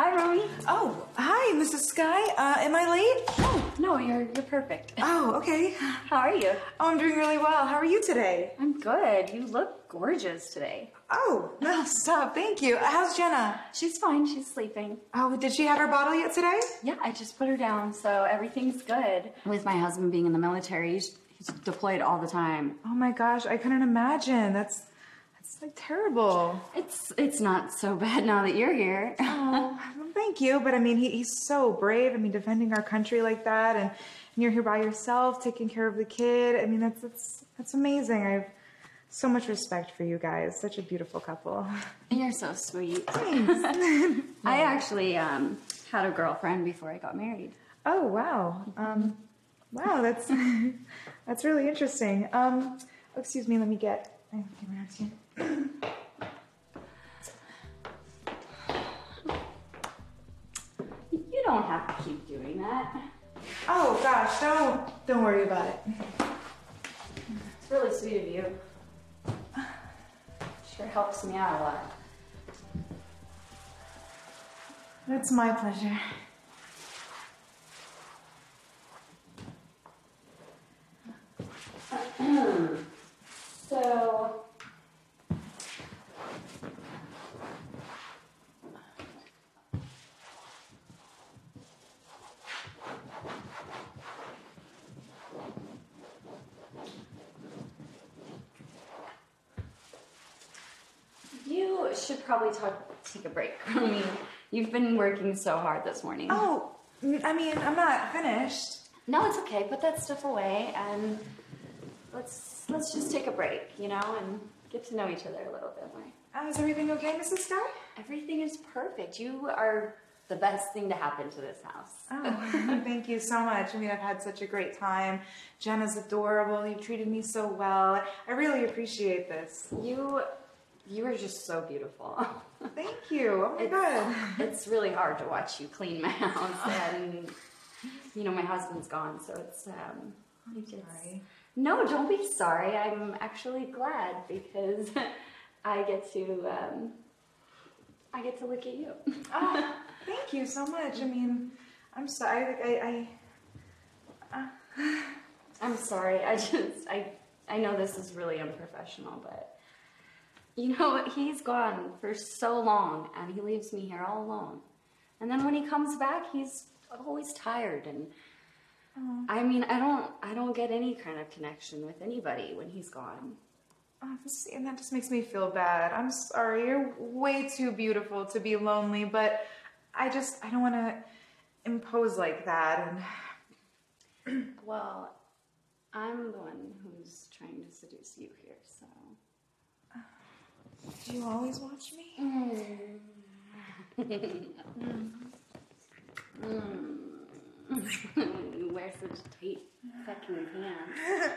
Hi, Romy. Oh, hi, Mrs. Sky. Am I late? Oh, no, you're perfect. Oh, okay. How are you? Oh, I'm doing really well. How are you today? I'm good. You look gorgeous today. Oh, no, stop. Thank you. How's Jenna? She's fine. She's sleeping. Oh, did she have her bottle yet today? Yeah, I just put her down, so everything's good. With my husband being in the military, he's deployed all the time. Oh my gosh, I couldn't imagine. That's like terrible. It's not so bad now that you're here. Oh, well, thank you. But I mean, he's so brave. I mean, defending our country like that, and you're here by yourself, taking care of the kid. I mean, that's amazing. I have so much respect for you guys. Such a beautiful couple. You're so sweet. Thanks. I actually had a girlfriend before I got married. Oh, wow. Wow, that's really interesting. Excuse me, let me get around here. You don't have to keep doing that. Oh gosh, don't worry about it. It's really sweet of you. Sure helps me out a lot. It's my pleasure. So, you should probably take a break. I mean, you've been working so hard this morning. Oh, I mean, I'm not finished. No, it's okay. Put that stuff away and let's just take a break, you know, and get to know each other a little bit more. Is everything okay, Mrs. Sky? Everything is perfect. You are the best thing to happen to this house. Oh, thank you so much. I mean, I've had such a great time. Jenna's adorable. You treated me so well. I really appreciate this. You are just so beautiful. Thank you. Oh my God. It's really hard to watch you clean my house, and you know my husband's gone, so it's I'm sorry. No, don't be sorry. I'm actually glad because I get to look at you. Oh, thank you so much. I mean, I'm sorry. I'm sorry. I know this is really unprofessional, but you know, he's gone for so long and he leaves me here all alone. And then when he comes back, he's always tired, and I mean, I don't get any kind of connection with anybody when he's gone. Oh, and that just makes me feel bad. I'm sorry. You're way too beautiful to be lonely, but I don't want to impose like that. And well, I'm the one who's trying to seduce you here, so. Do you always watch me? You wear such tight fucking pants.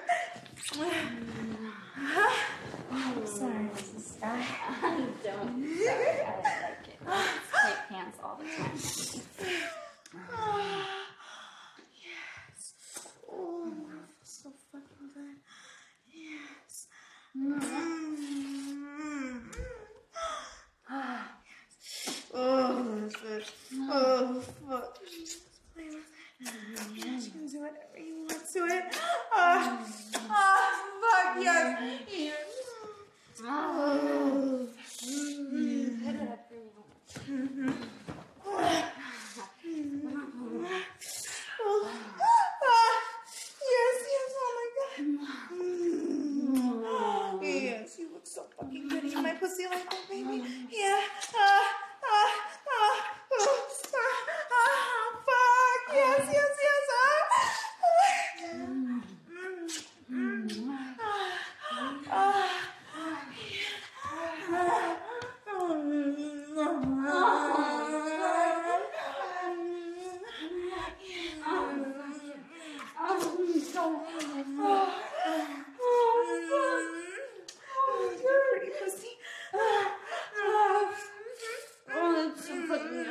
I'm sorry, Mrs. Sky. I don't. Sorry, I like it. Tight pants all the time. Yes. Oh, so fucking good. Yes. Oh, that's good. Oh, fuck. Yes, you can do whatever you want to it. Fuck, yes. Yes. Oh. Put it up for me. Yes, oh my God. Yes, you look so fucking good. Eat my pussy like that, baby. Yeah. Fuck. Yes. Pretty pussy. That's so fucking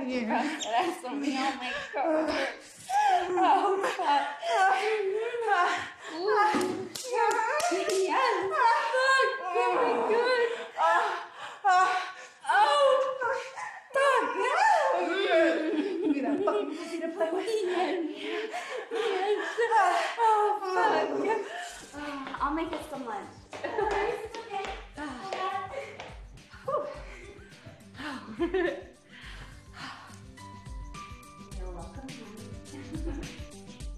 you. That's something I'll make cover. Oh, fuck. Ooh. Yes. Fuck. Very good. Oh. Fuck. Give me that fucking pussy to play with. Yes. Oh, fuck. I'll make us some lunch.